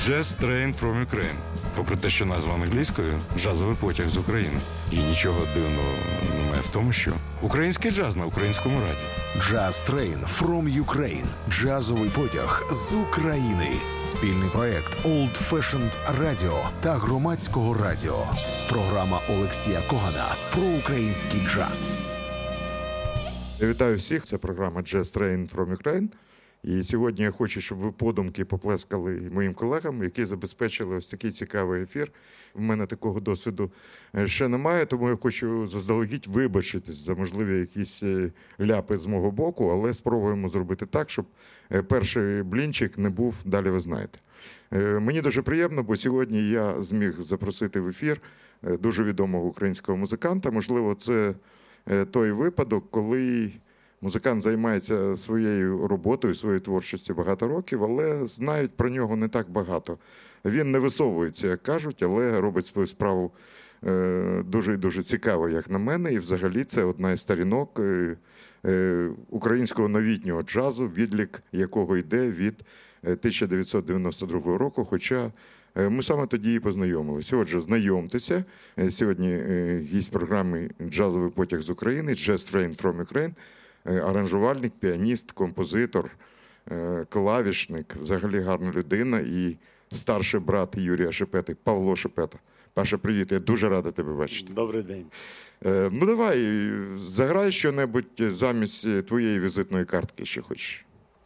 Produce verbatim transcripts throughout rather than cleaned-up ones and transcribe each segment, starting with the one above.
Jazz Train from Ukraine. Попри те, що назва англійською – джазовий потяг з України. І нічого дивного немає в тому, що український джаз на українському радіо. Jazz Train from Ukraine. Джазовий потяг з України. Спільний проект Old Fashioned Radio та Громадського радіо. Програма Олексія Когана про український джаз. Я вітаю всіх. Це програма Jazz Train from Ukraine. І сьогодні я хочу, щоб ви подумки поплескали моїм колегам, які забезпечили ось такий цікавий ефір. У мене такого досвіду ще немає, тому я хочу заздалегідь вибачитись за можливі якісь ляпи з мого боку, але спробуємо зробити так, щоб перший блінчик не був, далі ви знаєте. Мені дуже приємно, бо сьогодні я зміг запросити в ефір дуже відомого українського музиканта. Можливо, це той випадок, коли музикант займається своєю роботою, своєю творчістю багато років, але знають про нього не так багато. Він не висовується, як кажуть, але робить свою справу дуже і дуже цікаво, як на мене. І взагалі це одна із сторінок українського новітнього джазу, відлік якого йде від тисяча дев'ятсот дев'яносто другого року, хоча ми саме тоді і познайомилися. Отже, знайомтеся. Сьогодні гість програми «Джазовий потяг з України», Jazz Train from Ukraine, аранжувальник, піаніст, композитор, клавішник, взагалі гарна людина і старший брат Юрія Шепети, Павло Шепета. Паша, привіт, я дуже радий тебе бачити. Добрий день. Ну давай, заграй що-небудь замість твоєї візитної картки, що хочеш.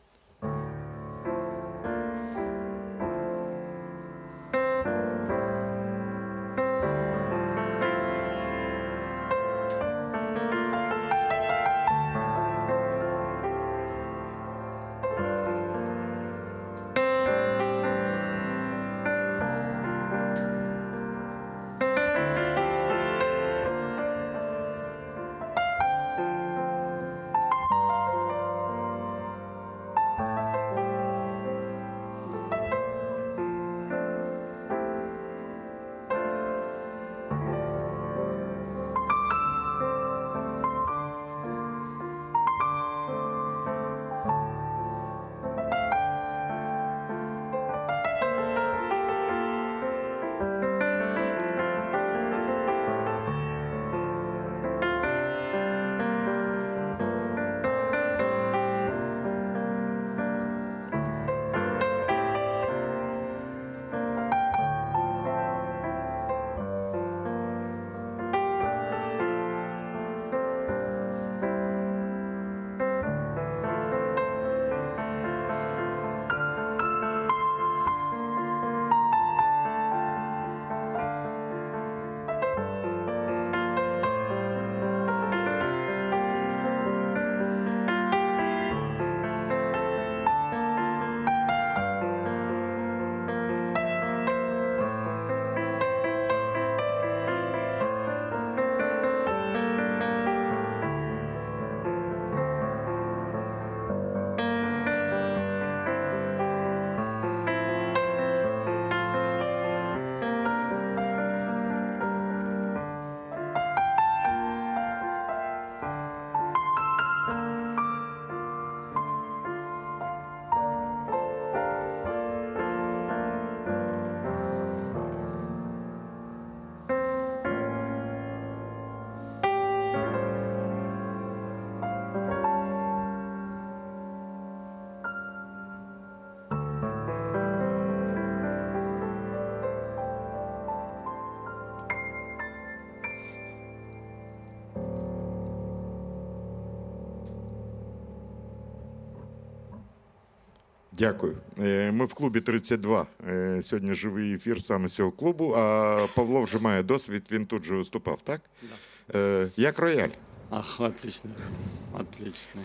Дякую. Ми в клубі тридцять два. Сьогодні живий ефір саме з цього клубу, а Павло вже має досвід, він тут же виступав, так? Да. Як рояль? Ах, отлично, отлично.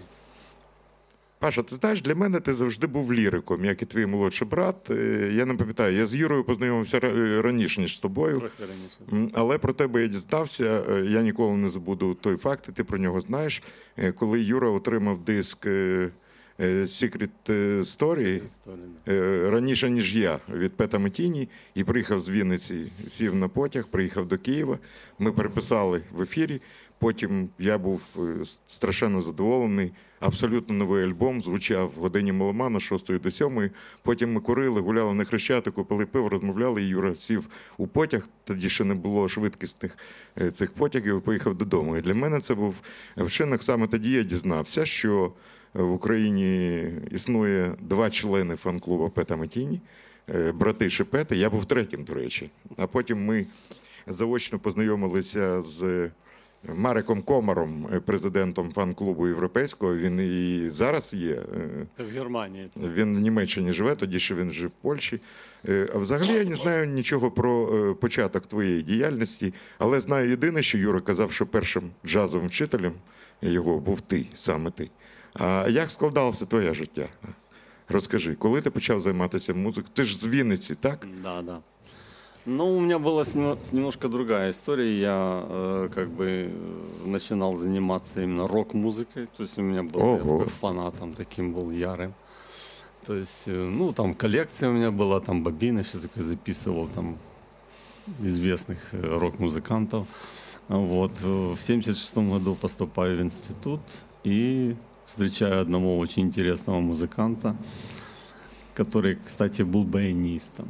Паша, ти знаєш, для мене ти завжди був ліриком, як і твій молодший брат. Я не пам'ятаю, я з Юрою познайомився раніше, ніж з тобою. Трохи раніше. Але про тебе я дізнався, я ніколи не забуду той факт, і ти про нього знаєш, коли Юра отримав диск е, Secret Story Історія. е, раніше, ніж я, від Пета Метіні, і приїхав з Вінниці, сів на потяг, приїхав до Києва. Ми переписали в ефірі. Потім я був е, страшенно задоволений. Абсолютно новий альбом звучав в годині меломана з шостої до сьомої. Потім ми курили, гуляли на Хрещатику, пили пиво, розмовляли. І Юра сів у потяг. Тоді ще не було швидкісних е, цих потягів. І поїхав додому. І для мене це був вчинок. Саме тоді я дізнався, що в Україні існує два члени фан-клубу Пета Метіні, е, брати Шепети. Я був третім, до речі. А потім ми заочно познайомилися з Мареком Комаром, президентом фан-клубу європейського. Він і зараз є. Це в Германії. Він в Німеччині живе, тоді ще він жив в Польщі. А взагалі я не знаю нічого про початок твоєї діяльності, але знаю єдине, що Юра казав, що першим джазовим вчителем його був ти, саме ти. А як складалося твоє життя? Розкажи, коли ти почав займатися музикою? Ти ж з Вінниці, так? Да, да. Ну, у меня была с нем- с немножко другая история. Я э, как бы э, начинал заниматься именно рок-музыкой. То есть у меня был, я Ого. такой фанатом таким был ярым. То есть, э, ну, там коллекция у меня была, там бобины, все такое записывал, там известных э, рок-музыкантов. Вот. э, В семьдесят шестом году поступаю в институт и встречаю одного очень интересного музыканта, который, кстати, был баянистом.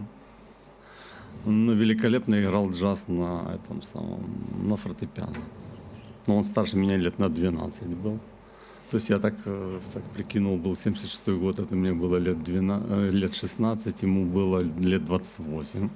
Ну, великолепно играл джаз на этом самом, на фортепиано. Но он старше меня лет на двенадцать был. То есть я так, э, так прикинул, был семьдесят шестой год, это мне было лет, двенадцать, э, лет шестнадцать, ему было лет двадцать восемь.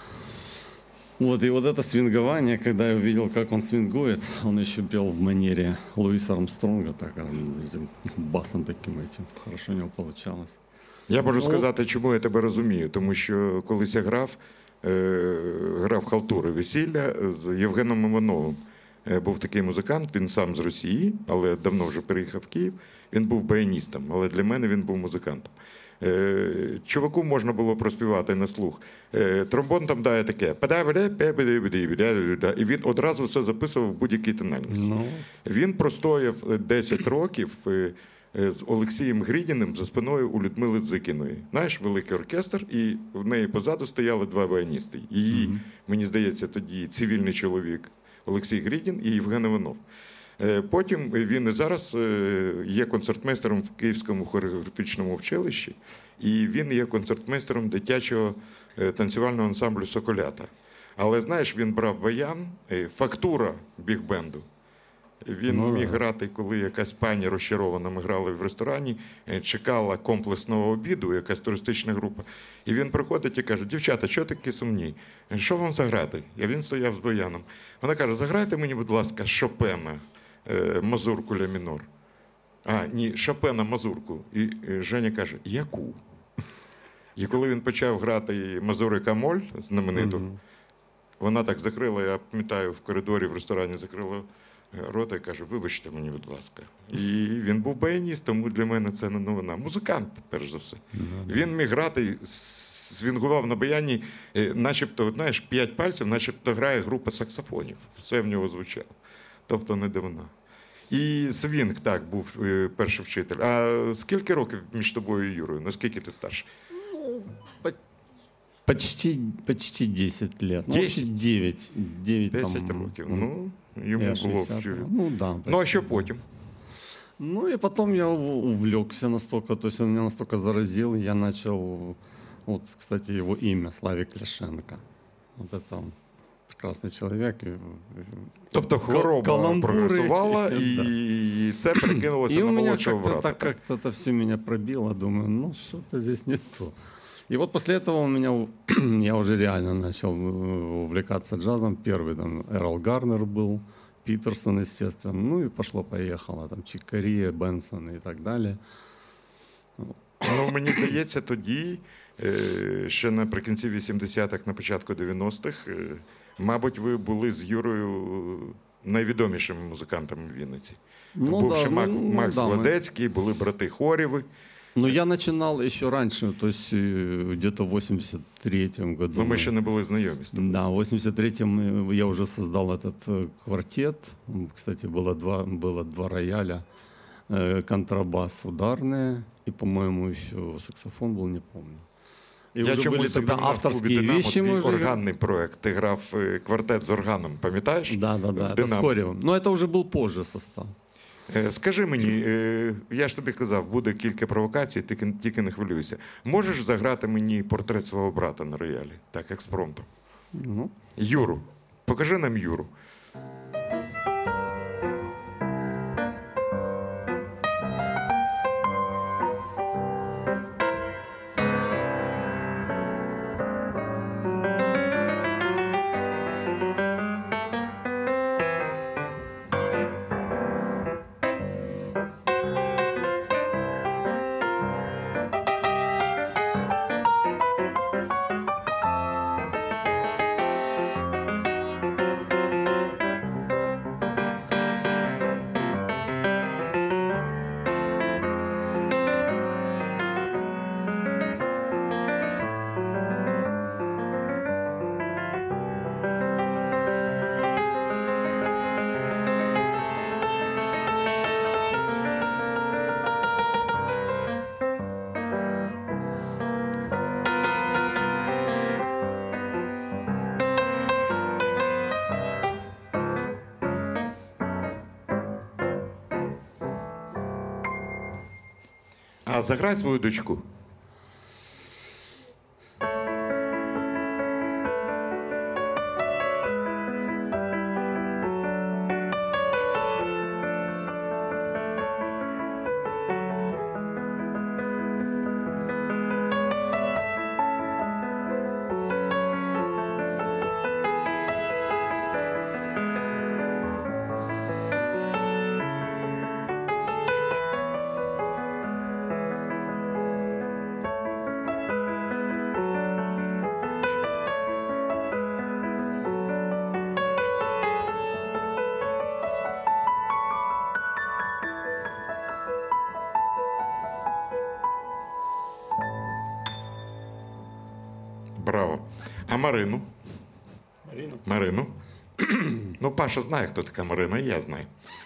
Вот, и вот это свингование, когда я увидел, как он свингует, он еще пел в манере Луиса Армстронга, так, а, этим басом таким этим, хорошо у него получалось. Я можу Ну, сказати, чому я тебе розумію. Тому що колись я грав, е, грав халтури весілля з Євгеном Івановим. Е, Був такий музикант, він сам з Росії, але давно вже переїхав в Київ. Він був баяністом, але для мене він був музикантом. Е, Чуваку можна було проспівати на слух. Е, Тромбон там дає таке. І він одразу все записував в будь-якій тональності. Ну, Він простояв десять років е, е, з Олексієм Грідіним за спиною у Людмили Дзикіної. Знаєш, великий оркестр, і в неї позаду стояли два баяністи. Її, Мгм. мені здається, тоді цивільний чоловік Олексій Грідін і Євген Іванов. Е, Потім він і зараз е, є концертмейстером в Київському хореографічному училищі, і він є концертмейстером дитячого е, танцювального ансамблю «Соколята». Але, знаєш, він брав баян, е, фактура біг-бенду. Він Ну, міг да. грати, коли якась пані розчарована, ми грали в ресторані, е, чекала комплексного обіду, якась туристична група. І він приходить і каже: дівчата, що такі сумні? Що вам заграти? І він стояв з баяном. Вона каже: заграйте мені, будь ласка, Шопена, е, мазурку ля мінор. А, ні, Шопена мазурку. І е, Женя каже: яку? І коли він почав грати мазурика моль знамениту, мгм. вона так закрила, я пам'ятаю, в коридорі в ресторані закрила е, рота і каже: вибачте мені, будь ласка. І він був баяніст, тому для мене це не новина. Музикант, перш за все. Він міг грати, свінгував на баяні, е, начебто, от, знаєш, п'ять пальців, начебто грає група саксофонів. Все в нього звучало. Тобто не дивина. І свінг, так, був е, перший вчитель. А скільки років між тобою і Юрою? Наскільки ти старший? Почти, почти десять лет. Ну, вообще десять? девять. девять Десять там, років. м, Ну, йому я було. шестьдесят. Ну, да. Ну, а почти. що потім? Ну и потом я у- увлекся настолько, то есть он меня настолько заразил, я начал, вот, кстати, его имя Славик Ляшенко. Вот это он, прекрасный человек. и- Тобто хвороба Каламбури. прогресувала, Да. і це перекинулося И на у меня молодшого как-то брата. так как-то это все меня пробило, думаю, ну что-то здесь не то. И вот после этого у меня, у- я уже реально начал э, увлекаться джазом. Первый там Эрл Гарнер был, Питерсон, естественно. Ну и пошло-поехало, там Чик Кория, Бенсон и так далее. Ну, мені здається, тоді, е, ще наприкінці вісімдесятих, на початку дев'яностих, е, мабуть, ви були з Юрою найвідомішими музикантами в Вінниці. Ну, Був да, ще Мак- ну, ну, Макс да, мы- Владецький, були брати Хорєви. Ну, я начинал еще раньше, то есть э, где-то в восемьдесят третьем году. Ну, ми ще не були знайомі з тобою. Да, в восемьдесят третьем э, я уже создал этот э, квартет. М, Кстати, было два, было два рояля, э, контрабас ударные и, по-моему, еще саксофон был, не помню. И Я уже чомусь были тогда запам'ятав в клубі авторские «Динамо» вещи. твій Мы уже... органний проект. Ти грав е, квартет з органом, пам'ятаєш? Да, да, да, В это с «Динамо». Хоревым. Но это уже был позже состав. Е, Скажи мені, е, я ж тобі казав, буде кілька провокацій, тільки, тільки не хвилюйся. Можеш заграти мені портрет свого брата на роялі? Так, експромтом. Ну, Юру. Покажи нам Юру. А заграй свою дочку. Браво. А Марину? Марину? Марину. Ну, Паша знає, хто така Марина, і я знаю.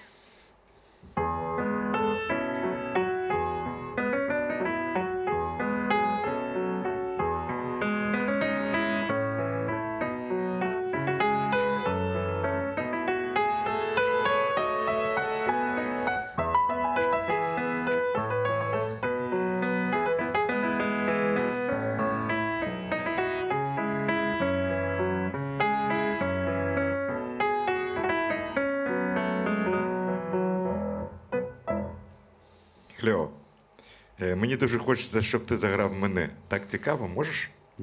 Кльово. Е, Мені дуже хочеться, щоб ти заграв мене. Так цікаво, можеш? Да.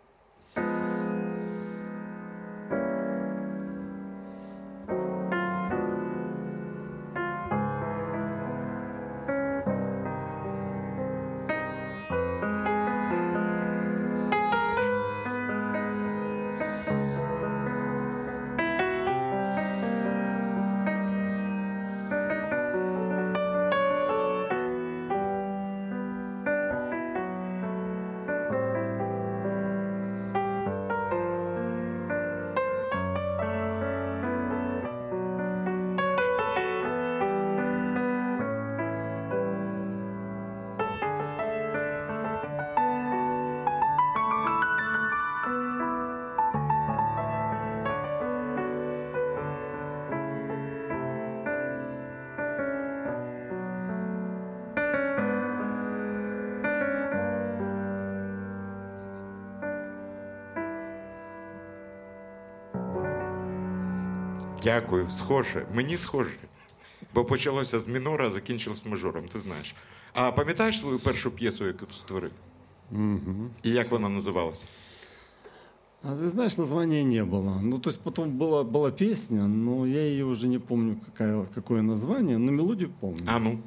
Дякую, схоже. Мені схоже. Бо почалося з мінора, а закінчилось мажором, ти знаєш. А пам'ятаєш свою першу п'єсу, яку ти створив? Угу. І як вона називалася? А ты знаешь, названия не было. Ну, то есть потом была, была песня, но я ее уже не помню, какая, какое название, но мелодию помню. А ну.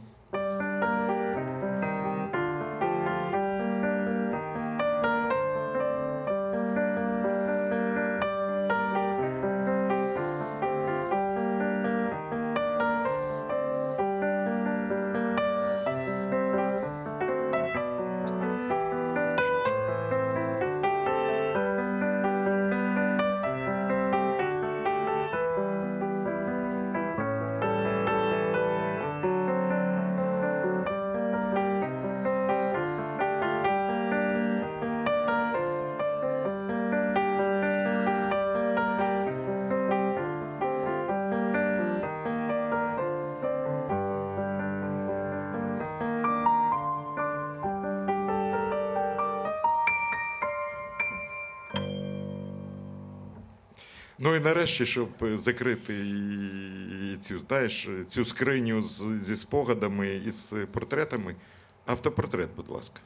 Ну і нарешті, щоб закрити і цю, знаєш, цю скриню з, зі спогадами і з портретами, автопортрет, будь ласка.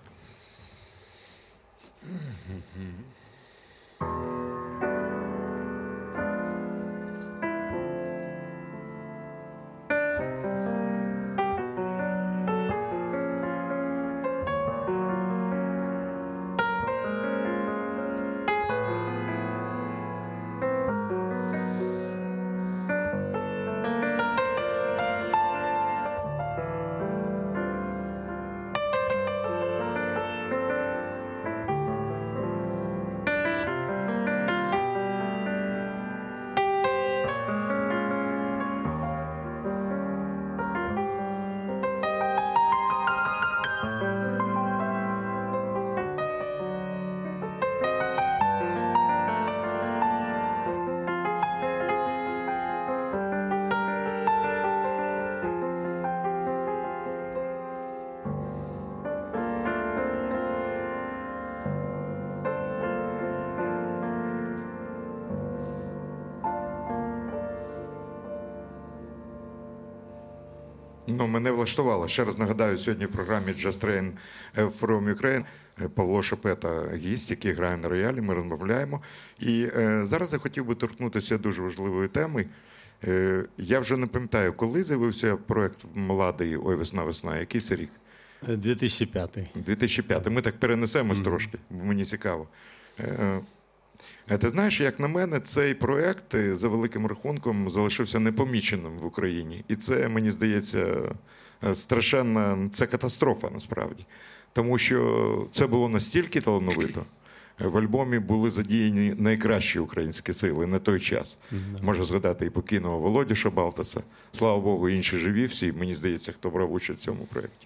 Ну, мене влаштувало. Ще раз нагадаю, сьогодні в програмі Just Train from Ukraine Павло Шепета, гість, який грає на роялі, ми розмовляємо. І е, зараз я хотів би торкнутися дуже важливої теми. Е, я вже не пам'ятаю, коли з'явився проєкт «Младий», ой, весна-весна, який це рік? дві тисячі п'ятий. дві тисячі п'ятий. Ми так перенесемось mm-hmm. трошки, бо мені цікаво. Е, Ти знаєш, як на мене, цей проєкт за великим рахунком залишився непоміченим в Україні. І це, мені здається, страшенна, це катастрофа насправді. Тому що це було настільки талановито. В альбомі були задіяні найкращі українські сили на той час. Mm-hmm. Можу згадати і покійного Володю Шабалтаса. Слава Богу, інші живі всі, мені здається, хто брав участь в цьому проєкті.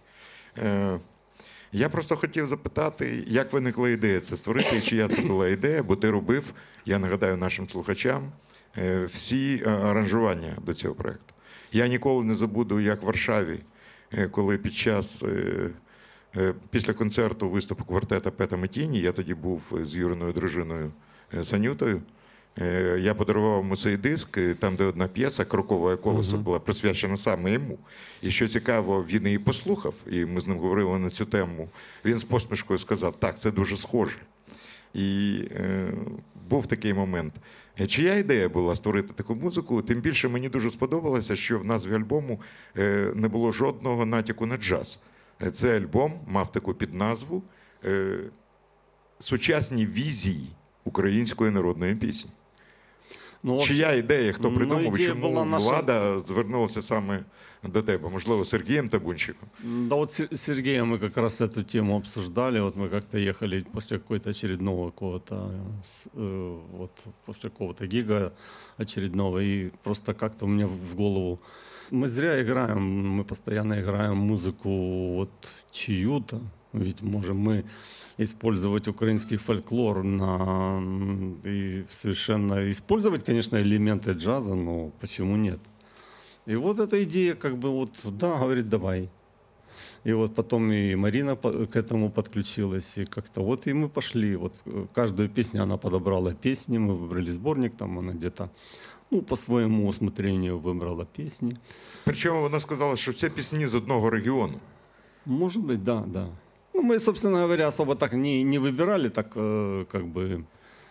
Я просто хотів запитати, як виникла ідея це створити, і чия це була ідея, бо ти робив, я нагадаю нашим слухачам, всі аранжування до цього проєкту. Я ніколи не забуду, як в Варшаві, коли під час, після концерту виступу квартета Пета Метіні, я тоді був з Юриною дружиною Санютою, я подарував йому цей диск, там, де одна п'єса «Крокове колесо» була присвячена саме йому. І що цікаво, він її послухав, і ми з ним говорили на цю тему. Він з посмішкою сказав, так, це дуже схоже. І е, був такий момент. Чия ідея була створити таку музику? Тим більше мені дуже сподобалося, що в назві альбому е, не було жодного натяку на джаз. Цей альбом мав таку підназву е, «Сучасні візії української народної пісні». Ну, чия ідея, хто придумав, ну, чому була наша... влада звернулася саме до тебе? Можливо, Сергеем Табунчиком? Да вот с Сергеем мы как раз эту тему обсуждали. Вот мы как-то ехали после какой-то очередного какого-то, вот после какого-то гига очередного, и просто как-то у меня в голову... Мы зря играем, мы постоянно играем музыку вот чью-то, ведь можем мы использовать украинский фольклор на... и совершенно использовать, конечно, элементы джаза, но почему нет? И вот эта идея, как бы вот, да, говорит, давай. И вот потом и Марина к этому подключилась, и как-то вот и мы пошли. Вот каждую песню она подобрала песни, мы выбрали сборник, там она где-то, ну, по своему усмотрению выбрала песни. Причому вона сказала, що це пісні з одного регіону. Может быть, да, да. Ну, мы, собственно говоря, особо так не, не выбирали, так э, как бы,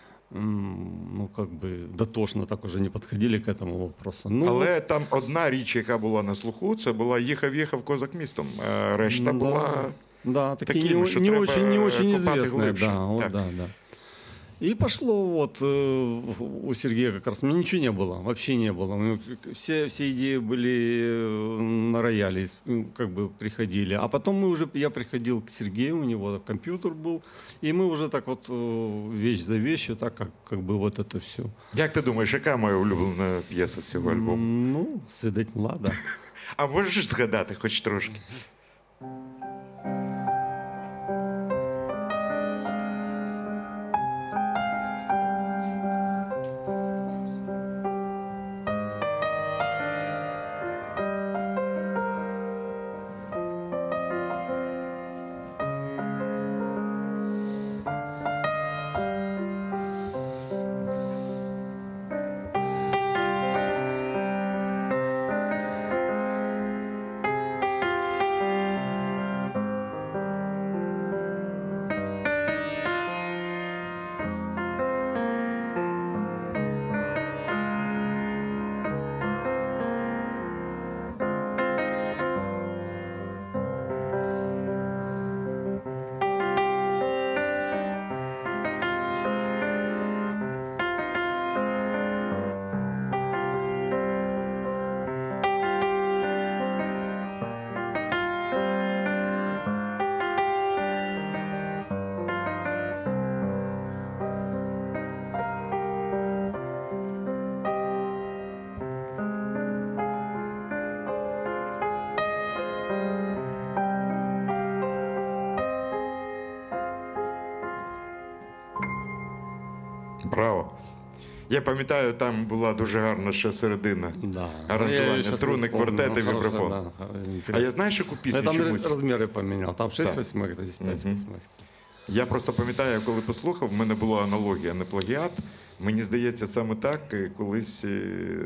ну, как бы дотошно так уже не подходили к этому вопросу. Ну, але вот... там одна річ, яка була на слуху, це була «Їхав-їхав козак містом». А решта да, була да, такие такими, не, що не треба очень, не очень известные. глибше. Да, вот, да, да. И пошло вот э, у Сергея как раз, ничего не было, вообще не было. Все, все идеи были на рояле, как бы приходили. А потом мы уже, я приходил к Сергею, у него компьютер был, и мы уже так вот вещь за вещью, так как, как бы вот это все. Як ти думаєш, яка моя улюблена п'єса з цього альбому? Ну, «Сидить млада». А можеш згадати хоч трошки? Браво. Я пам'ятаю, там була дуже гарна ще середина. Да. Аранжування, струни, квартет і вібрафон. Да, А я знаєш, яку пісню я там чомусь? Размеры поменял. Там шесть Так. восьмых, здесь пять восьмых. Я просто пам'ятаю, коли послухав, в мене була аналогія, не плагіат. Мені здається, саме так е, колись е,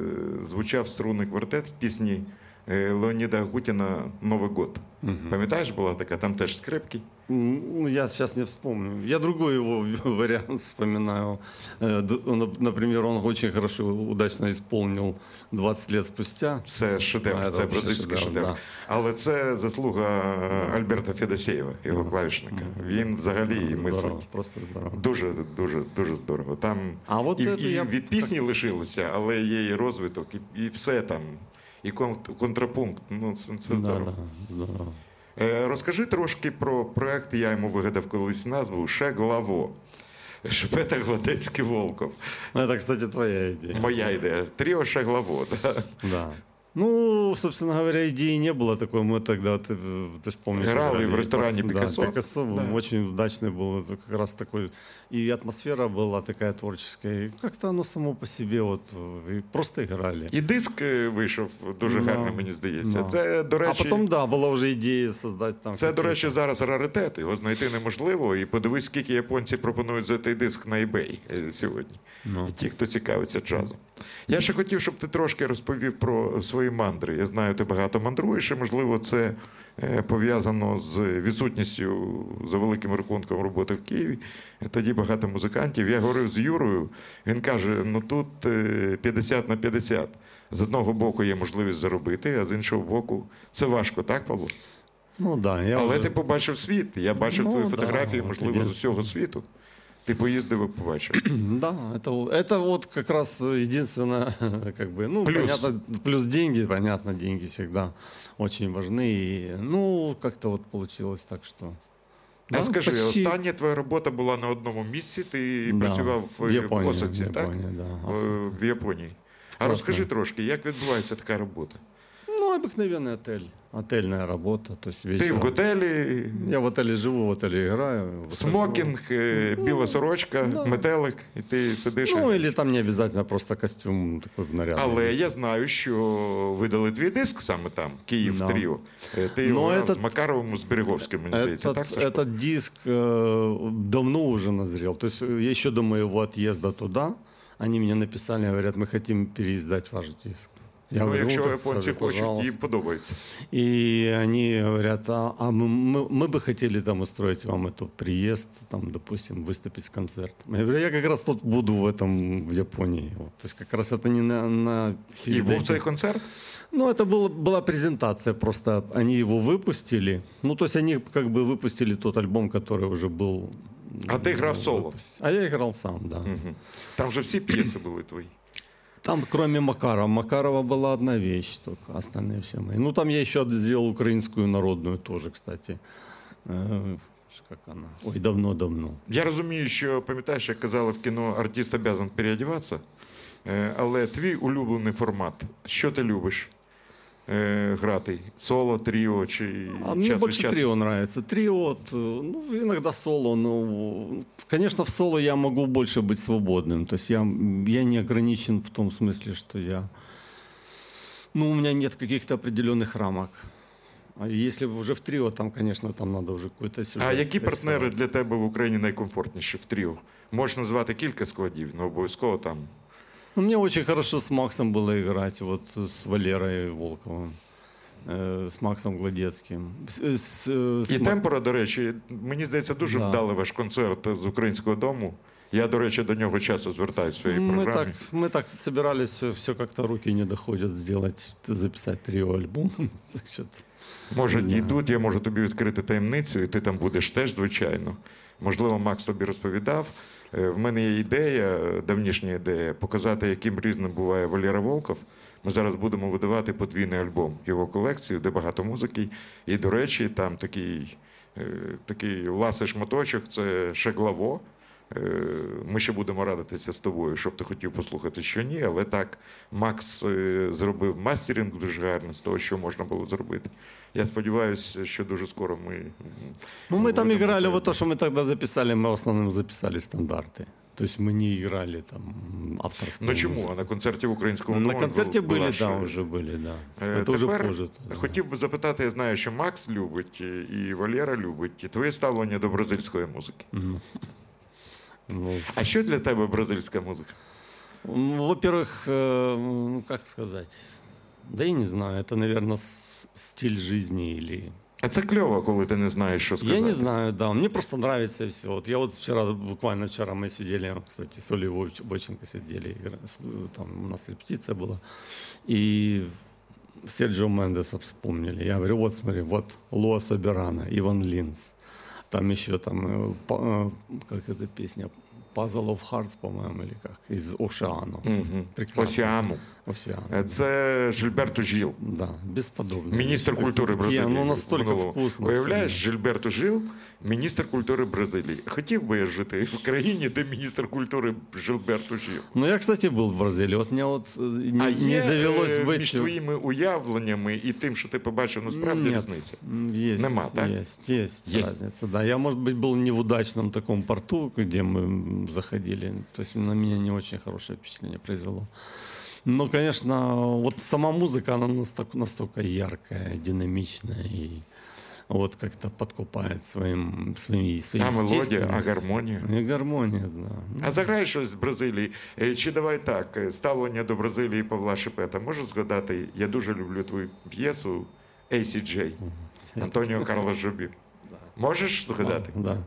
звучав струнний квартет в пісні е, Леоніда Агутіна «Новий год». Пам'ятаєш, була така? Там теж скрипки. Ну, я сейчас не вспомню. Я другой его вариант вспоминаю. Э, д- он, Например, он очень хорошо, удачно исполнил двадцать лет спустя. Це шедевр, А, це це бразильський шедевр, шедевр. да. Але це заслуга Альберта Федосєєва, його клавішника. Він взагалі Здорово, мислить. просто здорово. Дуже, дуже, дуже здорово. Там А от і, це і я- від пісні лишилося, але є і розвиток, і, і все там. І кон- контрапункт. Ну, це, це Да, здорово. да, здорово. Е, Розкажи трошки про проект, я йому вигадав колись назву «Шеглаво». Шпета Гладецький Волков. Ну, это, кстати, твоя идея. Моя ідея. Тріо Шеглаво. Да. Да. Ну, собственно говоря, идеи не было такой. Мы тогда, ты, ты ж помнишь... Играли играли в ресторане да, «Пикассо». Пикассо был, Да. очень удачный был. Это как раз такой... И атмосфера была такая творческая. И как-то оно само по себе вот... И просто играли. І диск е, вийшов дуже Да. гарний, мені здається. Да. Це, до речі, А потом, да, была уже идея создать там... це, до какие-то- речі, зараз раритет. Його знайти неможливо. І подивись, скільки японці пропонують за цей диск на eBay е, сьогодні. Ну. І ті, хто цікавиться джазом. Я ще хотів, щоб ти трошки розповів про свої мандри. Я знаю, ти багато мандруєш, і, можливо, це е, пов'язано з відсутністю, за великим рахунком, роботи в Києві. Тоді багато музикантів. Я говорив з Юрою, він каже, ну тут е, п'ятдесят на п'ятдесят. З одного боку є можливість заробити, а з іншого боку це важко, так, Павло? Ну, да, я Але уже... ти побачив світ. Я бачив Ну, твої да, фотографії, от можливо, з єдине- усього світу. Ти поїздив і побачив. Да, это, это вот как раз единственное, как бы, ну, Плюс. понятно, плюс деньги, понятно, деньги всегда очень важны. И, ну, как-то вот получилось так, что... А Да, скажи, почти. остання твоя робота була на одному місці, ти Да, працював в, в Японії, в Осаці, в так? Японії, да, В, Осака. в Японії. А Класно. розкажи трошки, як відбувається така робота? Ну, обыкновенный отель, отельная работа, то есть Ти вечером... в готелі, Я в отеле живу, в отеле играю. в отеле смокінг, е, біла сорочка, да. метелик, і ти сидиш. живу. Ну, і- или там не обязательно просто костюм такой нарядный. Але я знаю, що видали твій диск саме там, Київ Да. Тріо. Е, Ти Но його грав этот- з Макаровим, з Береговським, мені здається, так, Этот, Сашко? этот диск э, давно уже назрел. То есть э, еще до моего отъезда туда они мне написали, говорят, мы хотим переиздать ваш диск. Я Ну, говорю, якщо так, японці скажи, хочуть, пожалуйста. їм подобається. И они говорят, а, а мы, мы, мы бы хотели там устроить вам эту приезд, там, допустим, выступить с концертом. Я говорю, я как раз тут буду в этом, в Японии. Вот, то есть как раз это не на... на І перед був этим. цей концерт? Ну, это было, была презентация, просто они его выпустили. Ну, то есть они как бы выпустили тот альбом, который уже был... А ти грав соло? выпущен. А я играл сам, да. Мгм. Там же всі п'єси були твої. Там, кроме Макарова, Макарова была одна вещь только, остальные все мои. Ну, там я еще сделал украинскую народную тоже, кстати. Э, Как она? Ой, давно-давно. Я розумію, що, пам'ятаєш, як казали в кіно, артист обязан переодіватися, Е, але твій улюблений формат. Що ти любиш е, грати? Соло, тріо чи А мне час від больше часу? трио нравится. Трио, вот, э, ну, иногда соло, но, конечно, в соло я могу больше быть свободным. То есть я, я не ограничен в том смысле, что я... Ну, у меня нет каких-то определенных рамок. А если уже в трио, там, конечно, там надо уже какой-то сюжет. А які партнери рисовать. для тебе в Україні найкомфортніші в тріо? Можеш назвати кілька складів, але обов'язково там. Ну, мне очень хорошо с Максом было играть, вот с Валерой Волковым, э, с Максом Гладецким. С, с, э, с І Ма- темпора, до речі, мені здається, дуже Да. вдалий ваш концерт з українського дому. Я, до речі, до нього часто звертаюся в своїй мы програмі. так, мы так собирались, все, все как-то руки не доходят сделать, записать трио-альбом. Значит, Може, Не знаю. дійдуть, я можу тобі відкрити таємницю, і ти там будеш теж, звичайно. Можливо, Макс тобі розповідав. Е, В мене є ідея, е, давнішня ідея, показати, яким різним буває Валера Волков. Ми зараз будемо видавати подвійний альбом, його колекцію, де багато музики. І, до речі, там такий, е, такий ласий шматочок, це Шеглаво. Е, Ми ще будемо радитися з тобою, щоб ти хотів послухати, що ні, але так, Макс е, зробив мастеринг дуже гарно з того, що можна було зробити. Я сподіваюся, що дуже скоро ми... ну, мы там будемо играли, це- вот то, что мы тогда записали, мы в основном записали стандарты. То есть мы не играли там авторскую Ну чому? музыку. А на концерті в українському На домі концерте була были, ж- да, уже были, да. Е, Это уже тепер позже. да. хотів би запитати, я знаю, що Макс любить і- і Валера любить, і твоє ставлення до бразильської музики. Мгм. Ну, А що для тебе бразильська музика? ну, во-первых, э, ну, как сказать, да я не знаю, это, наверное, стиль жизни или... А це кльово, коли ти не знаєш, що сказати. Я не знаю, да, мне просто нравится все. Вот я вот вчера, буквально вчера мы сидели, кстати, с Олей Вовч- Бойченко сидели, игра- с- там у нас репетиция была, и Серджио Мендеса вспомнили. Я говорю, вот смотри, вот Луа Соберано, Иван Линц, там еще там, э, па- э, как эта песня, Puzzle of Hearts, по-моему, или как, из Ошеану. Мгм. Прекрасно. Осіану. Осеану. Е, Це Жильберто Жил, Да, бесподобно. міністр То есть культури такие, Бразилії. Ну, настолько Минулого. вкусно. Уявляєш, всё. Жильберто Жил, міністр культури Бразилії. Хотів би я жити в країні, де міністр культури Жильберто Жил. Ну, я, кстати, был в Бразилии. Вот мне вот э, не, А не є довелось е, быть... між твоїми уявленнями і тим, що ти побачив, насправді Нет, різниця? м, Есть, Нема, так? есть, есть, Есть. разница, да. Я, может быть, был не в удачном таком порту, где мы м, заходили. То есть на меня не очень хорошее впечатление произвело. Но, конечно, вот сама музыка, она настолько, настолько яркая, динамичная и вот как-то подкупает своим, своим, своей А мелодія, а естественностью. гармонія? И гармония, да. Ну, А заграй щось з Бразилії. Е, Чи давай так, е, ставлення до Бразилії Павла Шепета. Можеш згадати, я дуже люблю твою п'єсу «Ей Сі Джей» Антоніо Карло Жобі. Можеш згадати? Да.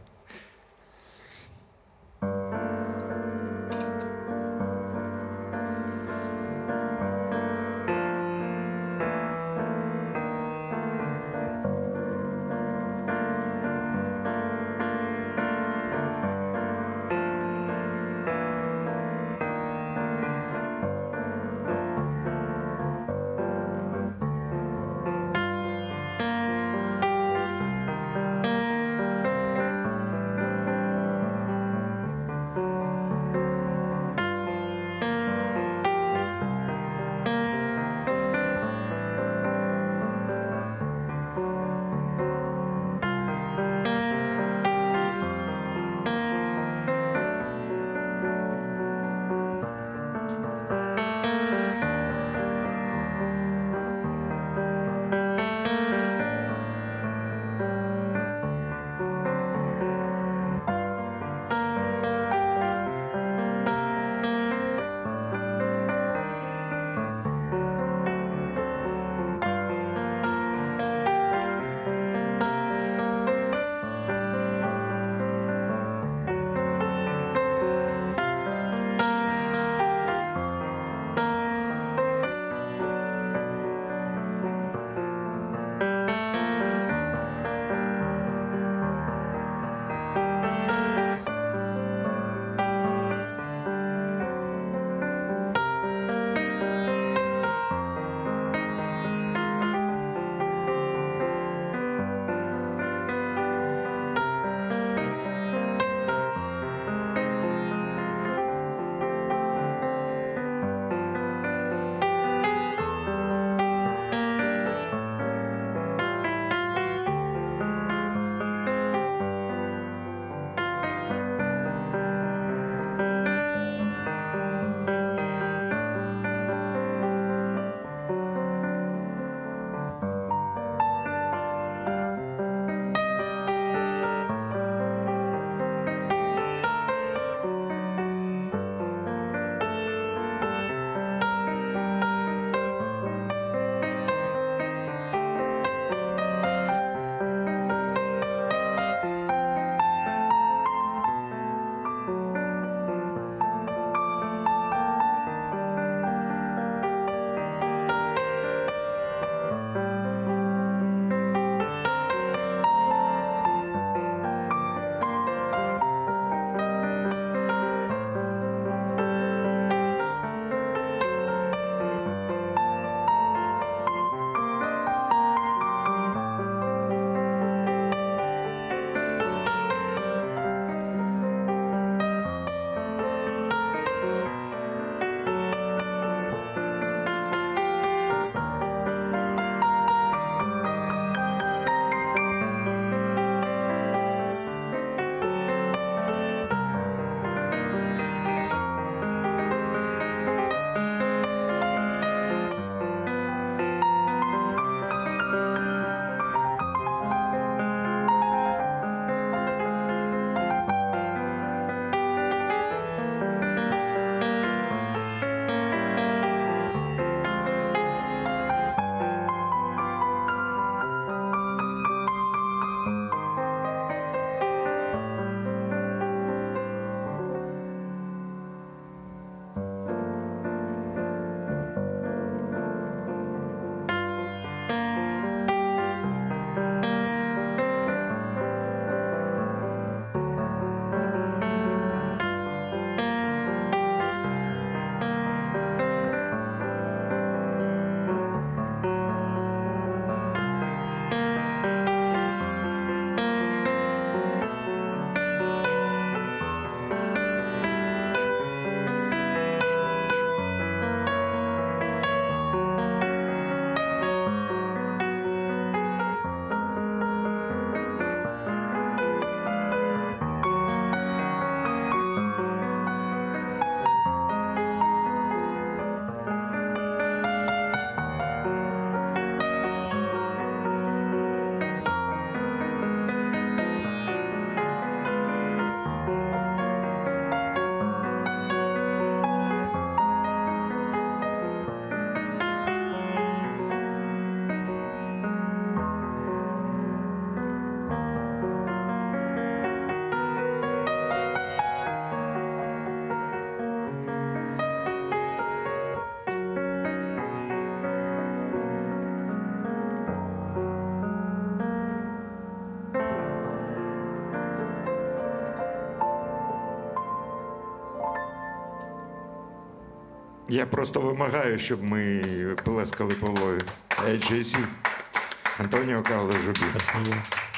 Я просто вимагаю, щоб ми плескали Павлові. ей джей сі. Антоніо Карло Жубін. Спасибо.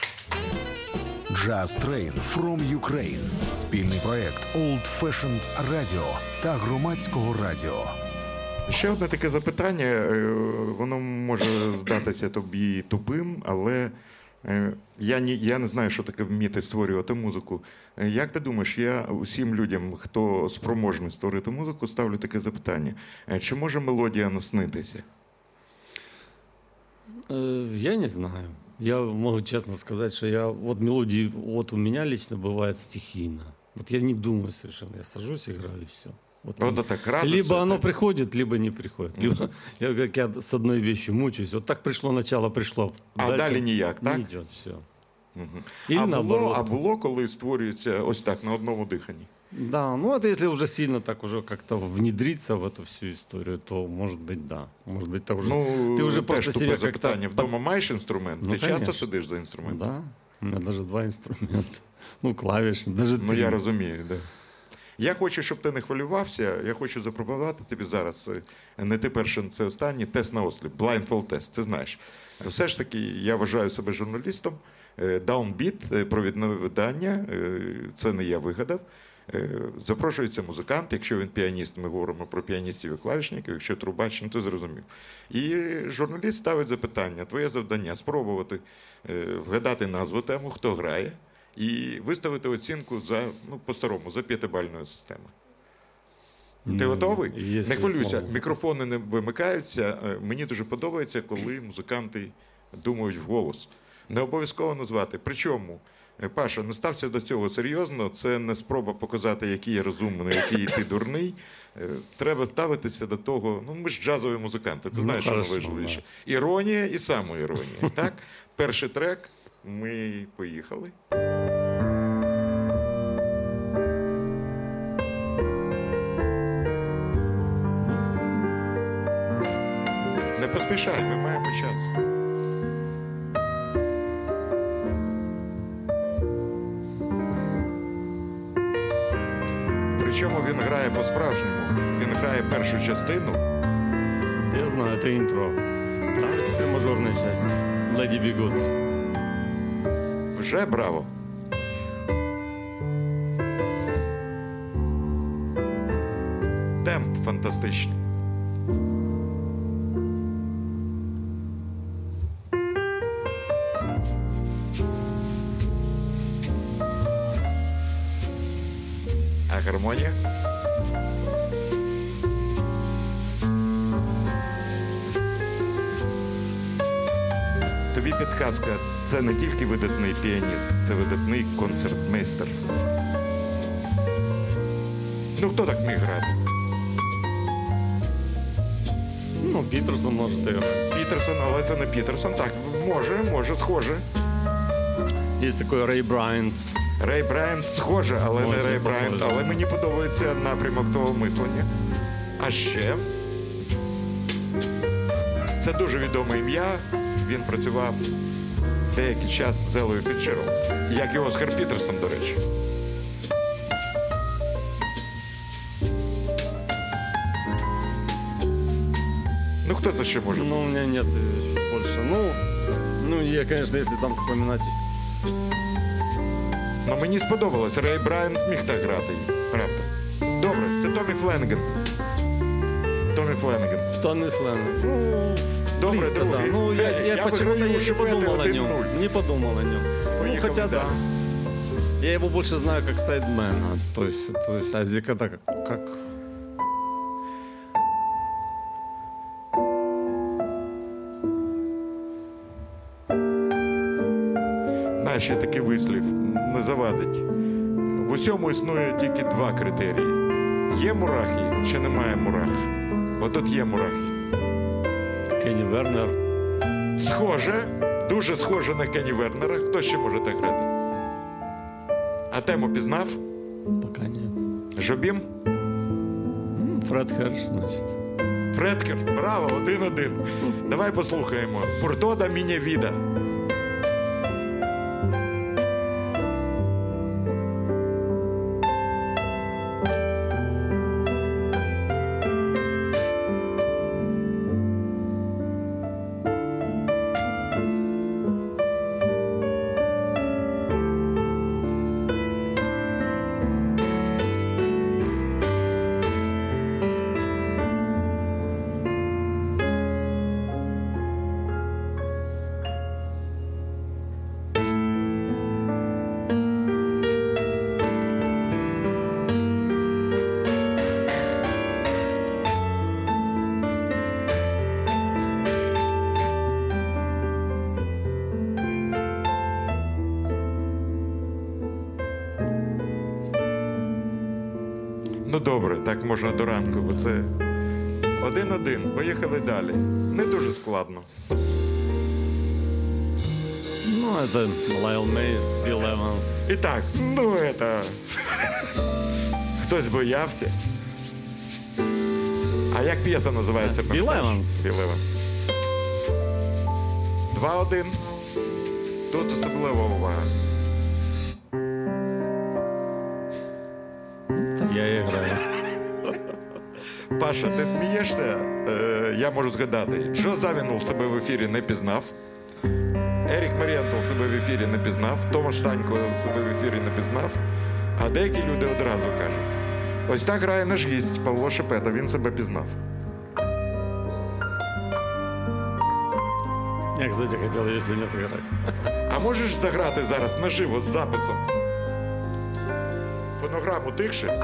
Jazz Train from Ukraine. Спільний проект Old Fashioned Radio та Громадського радіо. Ще одне таке запитання, е, воно може здатися тобі тупим, але е, я, ні, я не знаю, що таке вміти створювати музику. Е, Як ти думаєш, я усім людям, хто спроможний створити музику, ставлю таке запитання. Е, Чи може мелодія наснитися? Э, Я не знаю. Я могу честно сказать, что я вот мелодии, вот у меня лично бывает стихийно. Вот я не думаю совершенно, я сажусь, играю и все. Вот Вот оно- так раз, либо всё оно так. приходит, либо не приходит. Либо я как я с одной вещью мучаюсь. Вот так пришло начало, пришло. А далі ніяк, не так? идет все. Мгм. Или А було, наоборот. а було, коли створюється ось так, на одному диханні? Да, ну это если уже сильно так уже как-то внедриться в эту всю историю, то может быть да. Может быть это уже, Ну, ты уже теж просто тупе себе запитання. как-то... Вдома маєш інструмент? Ну, Ти часто конечно. сидиш за інструментом? Да, у меня даже два инструмента. Ну, клавиши, даже Ну, три. я розумію, да. Я хочу, щоб ти не хвилювався. Я хочу запропонувати тобі зараз, е, не ти перший, це останній, тест на осліп, blindfold тест, ти знаєш. Все ж таки, я вважаю себе журналістом. Е, Downbeat, е, провідне видання, е, це не я вигадав. Е, Запрошується музикант, якщо він піаніст, ми говоримо про піаністів і клавішників, якщо трубач, ну ти зрозумів. І журналіст ставить запитання, твоє завдання спробувати е, вгадати назву тему, хто грає, і виставити оцінку за, ну, по-старому, за п'ятибальною системою. Ти Ну, готовий? если Не хвилюйся, смогу. мікрофони не вимикаються. Е, Мені дуже подобається, коли музиканти думають вголос. Не обов'язково назвати. Причому, е, Паша, не стався до цього серйозно, це не спроба показати, який я розумний, який ти дурний. Е, Треба ставитися до того, ну ми ж джазові музиканти, ти Ну, знаєш, що хорошо, найважливіше. Іронія і самоіронія. Так? Перший трек, ми поїхали. Не поспішай, ми маємо час. Причому він грає по-справжньому. Він грає першу частину. Я знаю, это интро. Там же теперь мажорная часть. Леди бегут. Вже браво. Темп фантастичний. А гармонія? Тобі підказка, це не тільки видатний піаніст, це видатний концертмейстер. Ну, хто так міг грати? Ну, Питерсон может играть. Пітерсон, але це не Пітерсон. Так, може, може, схоже. Есть такой Рэй Брайант. Рей Брайант схоже, але Може, не Рей Брайант. похоже. Але мені подобається напрямок того мислення. А ще це дуже відоме ім'я. Він працював деякий час з Елою Фітчером. Як і Оскар Пітерсон, до речі. Ну, хто це ще може? Ну, у меня нет э, больше. Ну, ну, я, конечно, если там вспоминать. Ну, мені сподобалось. Рей Брайант міг так грати. Правда. Добре, це Томі Фленнеган. Томі Фленнеган. Томми Фленнеган. Ну, Добре, близко, другий. да. Ну, я, я, Я почему-то виграю я не шипети подумал о один нем. нуль. Не подумал о нем. Ну, Поехали хотя да. дальше. Я его больше знаю как сайдмена. То есть, то есть а здесь когда как, как... Знаєш, є такий вислів, не завадить. В усьому існує тільки два критерії. Є мурахи чи немає мурах? От тут є мурахи. Кенни Вернер. Схоже, дуже схоже на Кенні Вернера. Хто ще може так грати? А тему пізнав? Пока нет. Жобім? М, Фред Херш, значит. Фредкер. Браво, один-один. Давай послухаємо. Пуртода міня віда. Ну добре, так можна до ранку, бо це один-один. Поїхали далі. Не дуже складно. Ну, это Лайл Мейс, Билл Эванс. І так, ну это... Хтось боявся. А як п'єса називається? Білл Еванс. Білл Еванс. Два-один. Тут особлива увага. Я играю. Паша, ти смієшся? Е, я можу згадати. Джо Завінул себе в ефірі не пізнав. Ерік Марієнтов себе в ефірі не пізнав. Томаш Станько себе в ефірі не пізнав. А деякі люди одразу кажуть. Ось так грає наш гість Павло Шепета. Він себе пізнав. Я, кстати, хотел ее сегодня сыграть. А можеш заграти зараз наживо з записом? Фонограму тихше.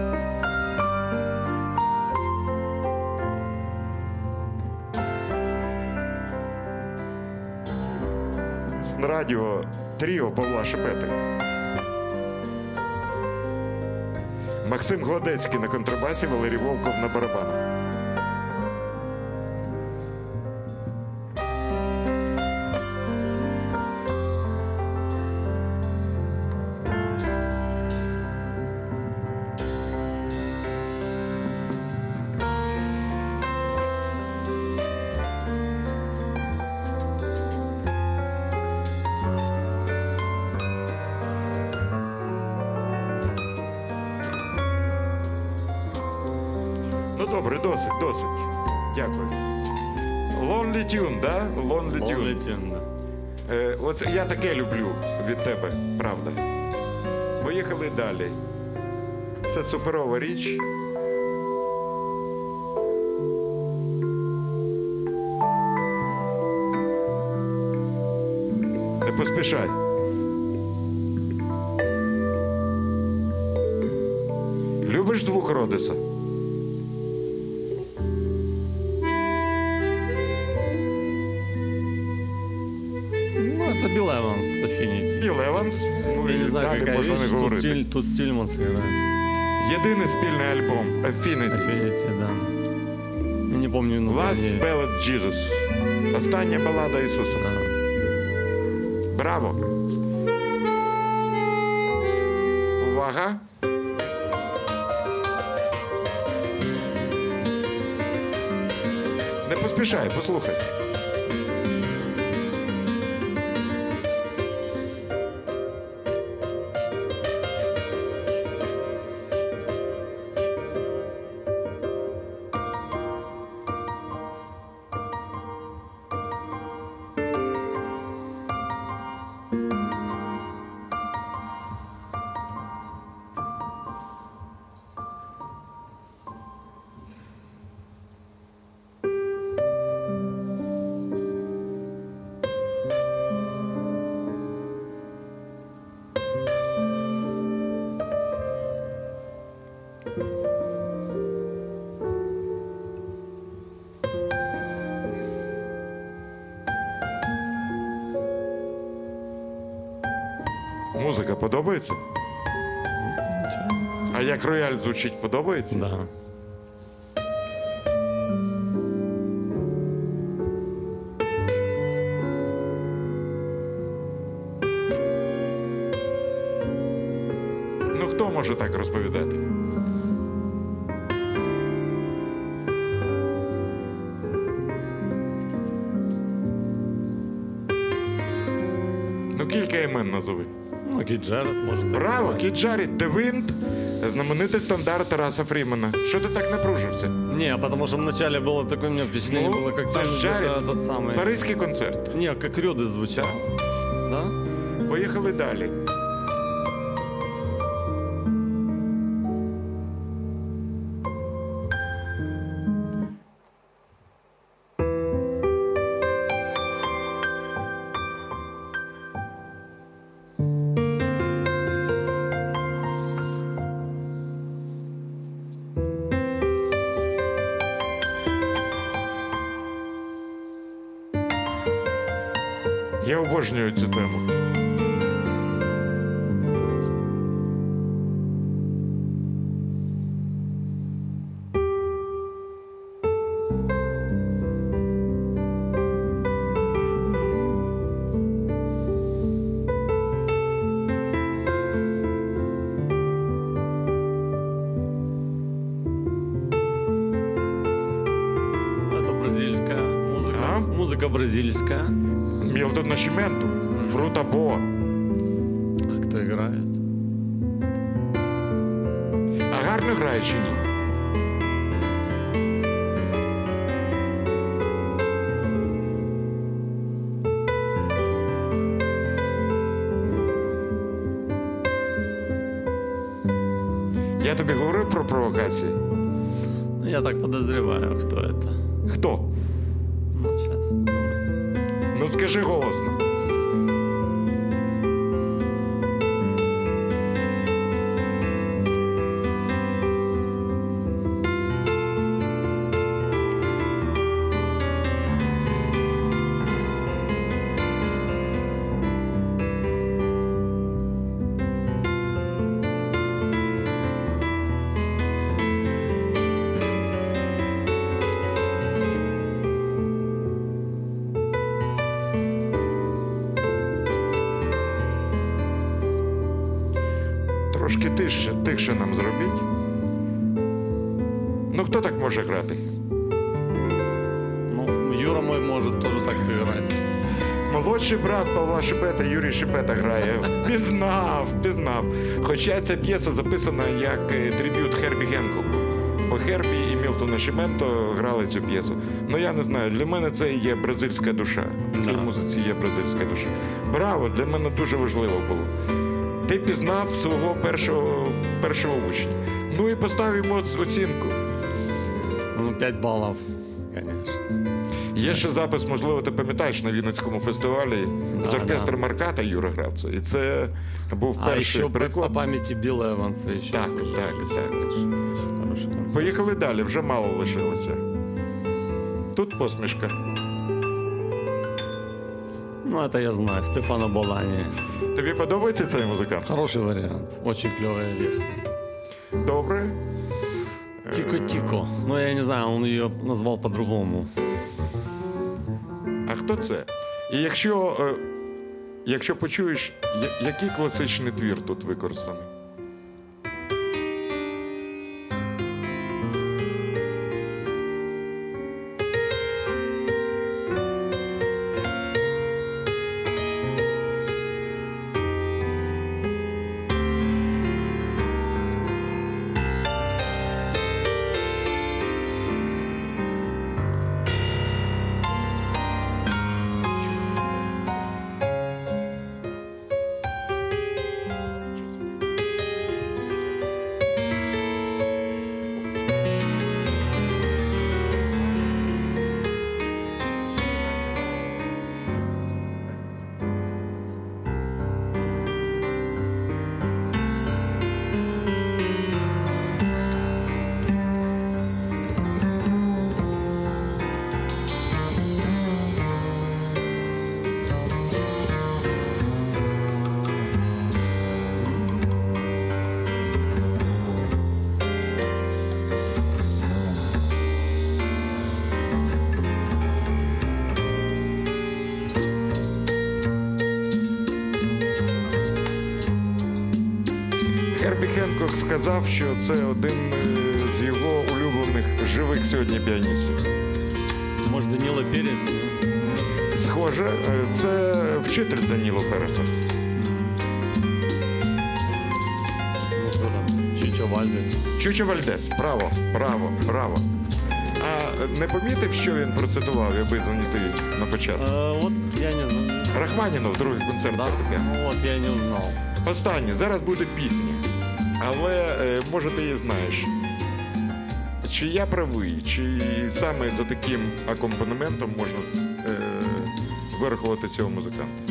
На радіо тріо Павла Шепети. Максим Гладецький на контрабасі, Валерій Волков на барабанах. Ну добре, досить, досить. Дякую. Lonely Tune, да? Lonely Tune. Lonely Tune, да. Е, оце, я таке люблю від тебе, правда. Поїхали далі. Це суперова річ. Не поспішай. Любиш звук Родеса? Ну, это Билл Эванс, Affinity. Білл Еванс. Ну, Я і не знаю, далі какая можна не вещь. Тут, говорити. Стиль, тут Стильманс играет. Єдиний спільний альбом Affinity. Affinity, да. Я не помню Last название. Ballad Jesus. Остання балада Ісуса. Да. Браво! Увага! Не поспішай, послухай. Музика подобається? А як рояль звучить, подобається? Да. Ну хто може так розповідати? Ну кілька імен назови. Ну, Кит Джаред, может. Браво, так Кіт Джаред, The Wind, знаменитий стандарт Тараса Фрімена. Що ти так напружився? Не, потому что вначале было такое, у меня впечатление Ну, было, как це там ж Джаред. где-то тот самый... Паризький концерт. Не, как Рёды звучал. Да? Поїхали далі. Я обожнюю цю тему. Музыка бразильская. Мілтон Нашіменту, Фрута Бо. А кто играет? А гарно грає чи ні? Я тобі говорив про провокації? Ну, я так подозреваю, кто это. Хто? Ну, сейчас. Ну скажи голосно. Трошки тихше, тихше нам зробіть. Ну хто так може грати? Ну, Юра мой может тоже так сыграть. Молодший брат Павла Шипета, Юрій Шипета грає. Впізнав, впізнав. Хоча ця п'єса записана як е, триб'ют Хербі Генкоку. Бо Хербі і Мілтон Нашіменто грали цю п'єсу. Ну я не знаю, для мене це і є бразильська душа. В цій Да. музиці є бразильська душа. Браво, для мене дуже важливо було. Ти пізнав свого першого, першого учня. Ну і постав йому оц- оцінку. Ну, пять баллов, конечно. Є ще запис, можливо, ти пам'ятаєш, на Вінницькому фестивалі Да, з оркестром да. Марката Юра грав це. І це був А перший еще по, приклад. по памяти Билла Эванса еще. Так, тоже так, очень- так. очень Хороший концерт. Поїхали далі, вже мало лишилося. Тут посмішка. Ну, это я знаю. Стефано Болани. Тобі подобається цей музикант? Хороший вариант. Очень клевая версия. Добре. Тико-тико. Ну, я не знаю, он ее назвал по-другому. А хто це? І якщо, е, якщо почуєш, я- який класичний твір тут використаний? Хербі Хенкок сказав, що це один е, з його улюблених живих сьогодні піаністів. Может, Данила Перец? Схоже, е, це вчитель Даніло Переса. Ну, кто там? Чичо Вальдес. Чучо Вальдес. Браво, браво, браво. А не помітив, що він процитував, аби знайти на початку? Э, вот я не знаю. Рахманінов, другий концерт Да? фортепіано. Ну, вот я не узнал. Останнє, зараз буде пісня. Але, е, може, ти її знаєш. Чи я правий, чи саме за таким акомпанементом можна е, вирахувати цього музиканта?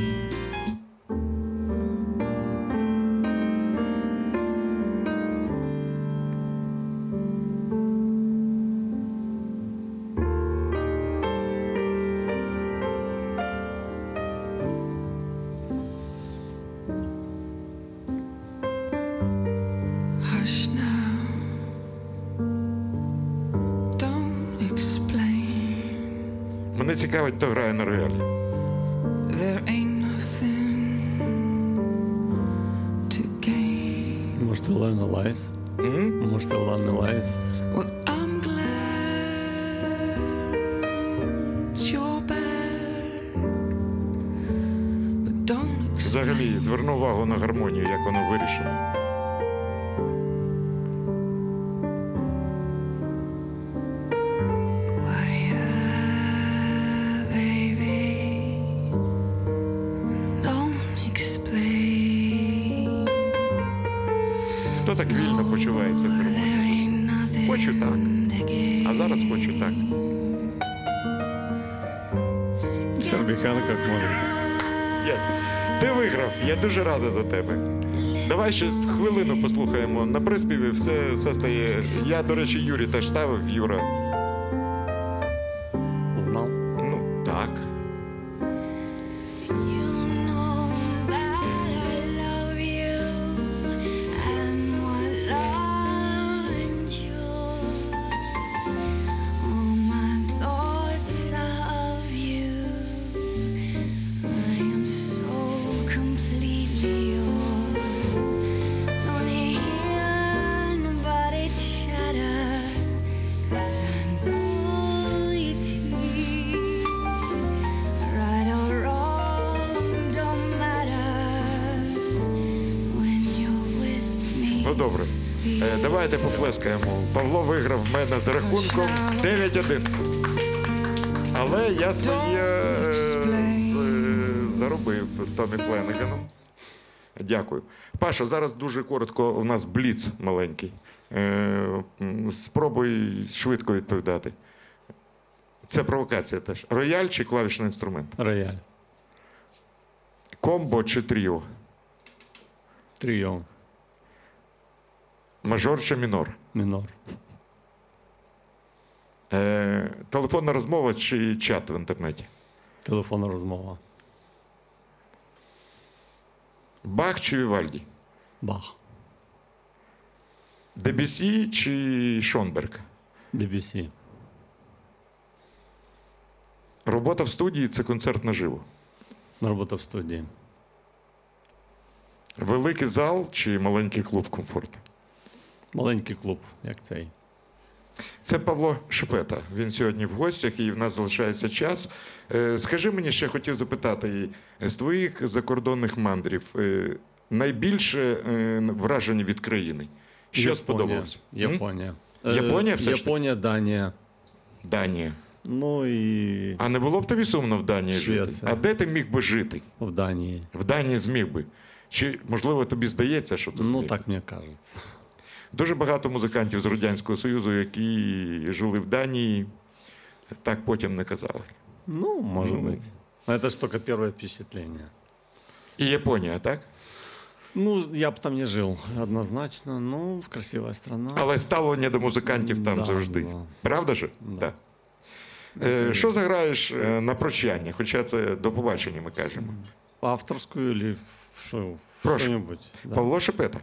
Hush now, don't explain. Мене цікавить, хто грає на роялі. There ain't nothing to gain. Может, Илана Лайс? М? Может, Илана Лайс? Well, I'm glad you're back. взагалі, зверну увагу на гармонію, як воно вирішено. Quiet, baby. Don't explain. Хто так вільно почувається в There гармонії? ain't nothing Хочу так. to gain. А зараз хочу так. Хербі Хенкок може. Yes. Ти виграв, я дуже радий за тебе. Давай ще хвилину послухаємо. На приспіві все, все стає. Я, до речі, Юрі теж ставив, Юра. Знав. Ну, так. You know that I love you and what love endures. All my thoughts of you. I am so completely yours. Don't hear nobody chatter, 'cause I know you cheat. Right or wrong, don't matter when you're with me. Ну, добре. Е, давайте поплескаємо. Павло виграв в мене з рахунком дев'ять один. Але я своє е, з- заробив з Томі Фленеганом. Дякую. Паша, зараз дуже коротко, у нас бліц маленький. Е, м, спробуй швидко відповідати. Це провокація теж. Рояль чи клавішний інструмент? Рояль. Комбо чи тріо? Тріо. Мажор чи мінор? Мінор. Е, телефонна розмова чи чат в інтернеті? Телефонна розмова. Бах чи Вівальді? Бах. Дебюсі чи Шонберг? Дебюсі. Робота в студії – це концерт наживо. Робота в студії. Великий зал чи маленький клуб комфорту? Маленький клуб, як цей. Це Павло Шепета. Він сьогодні в гостях і в нас залишається час. Е, Скажи мені, ще хотів запитати, з твоїх закордонних мандрів е, найбільше е, враження від країни? Що Японія. сподобалося? М? Японія. Японія Е, все ж таки? Японія, Данія. Данія. Ну і А не було б тобі сумно в Данії жити? Швеція. А де ти міг би жити? в Данії. В Данії зміг би. Чи, можливо, тобі здається, що ти Ну, зміг? так мені кажеться. Дуже багато музикантів з Радянського Союзу, які жили в Данії, так потім не казали. Ну, может Ну. быть. Но это же только первое впечатление. І Японія, так? Ну, я бы там не жил, однозначно. Ну, красивая страна. Але ставлення до музикантів там Да, завжди. да. Правда ж? Да. Так. Е, що заграєш е, на прощання? Хоча це до побачення ми кажемо. Авторскую или что, Прошу. что-нибудь. Да. Павло Шепета.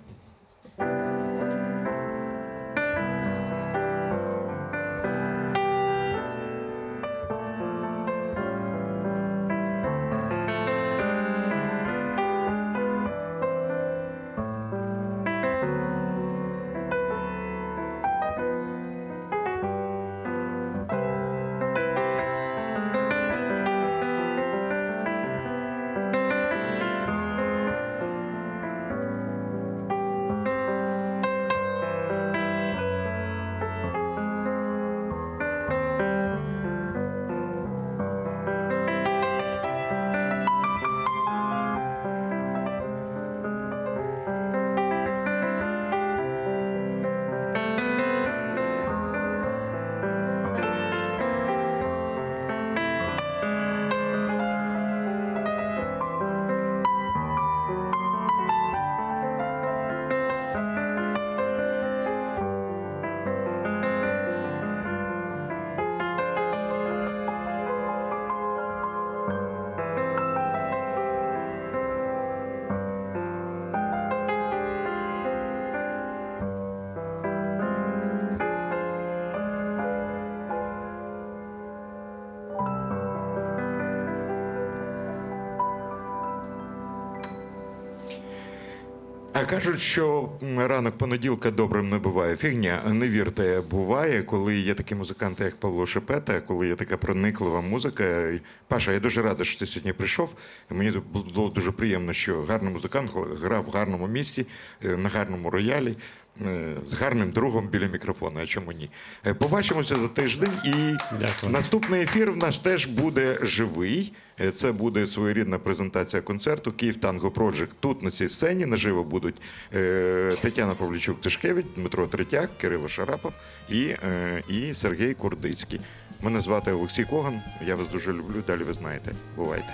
А кажуть, що ранок понеділка добрим не буває. Фігня, не вірте, буває, коли є такі музиканти, як Павло Шепета, коли є така прониклива музика. Паша, я дуже радий, що ти сьогодні прийшов. Мені було дуже приємно, що гарний музикант грав в гарному місці, на гарному роялі, з гарним другом біля мікрофона, а чому ні. Побачимося за тиждень, і Дякую. наступний ефір в нас теж буде живий. Це буде своєрідна презентація концерту «Київ Танго Проджект». Тут на цій сцені наживо будуть е, Тетяна Павлічук-Тишкевич, Дмитро Третяк, Кирило Шарапов і, е, і Сергій Курдицький. Мене звати Олексій Коган, я вас дуже люблю, далі ви знаєте. Бувайте.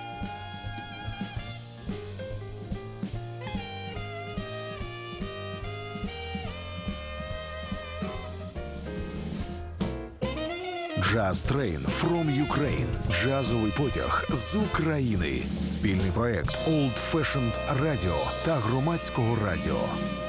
Jazz Train from Ukraine. Джазовий потяг з України. Спільний проект Old Fashioned Radio та Громадського радіо.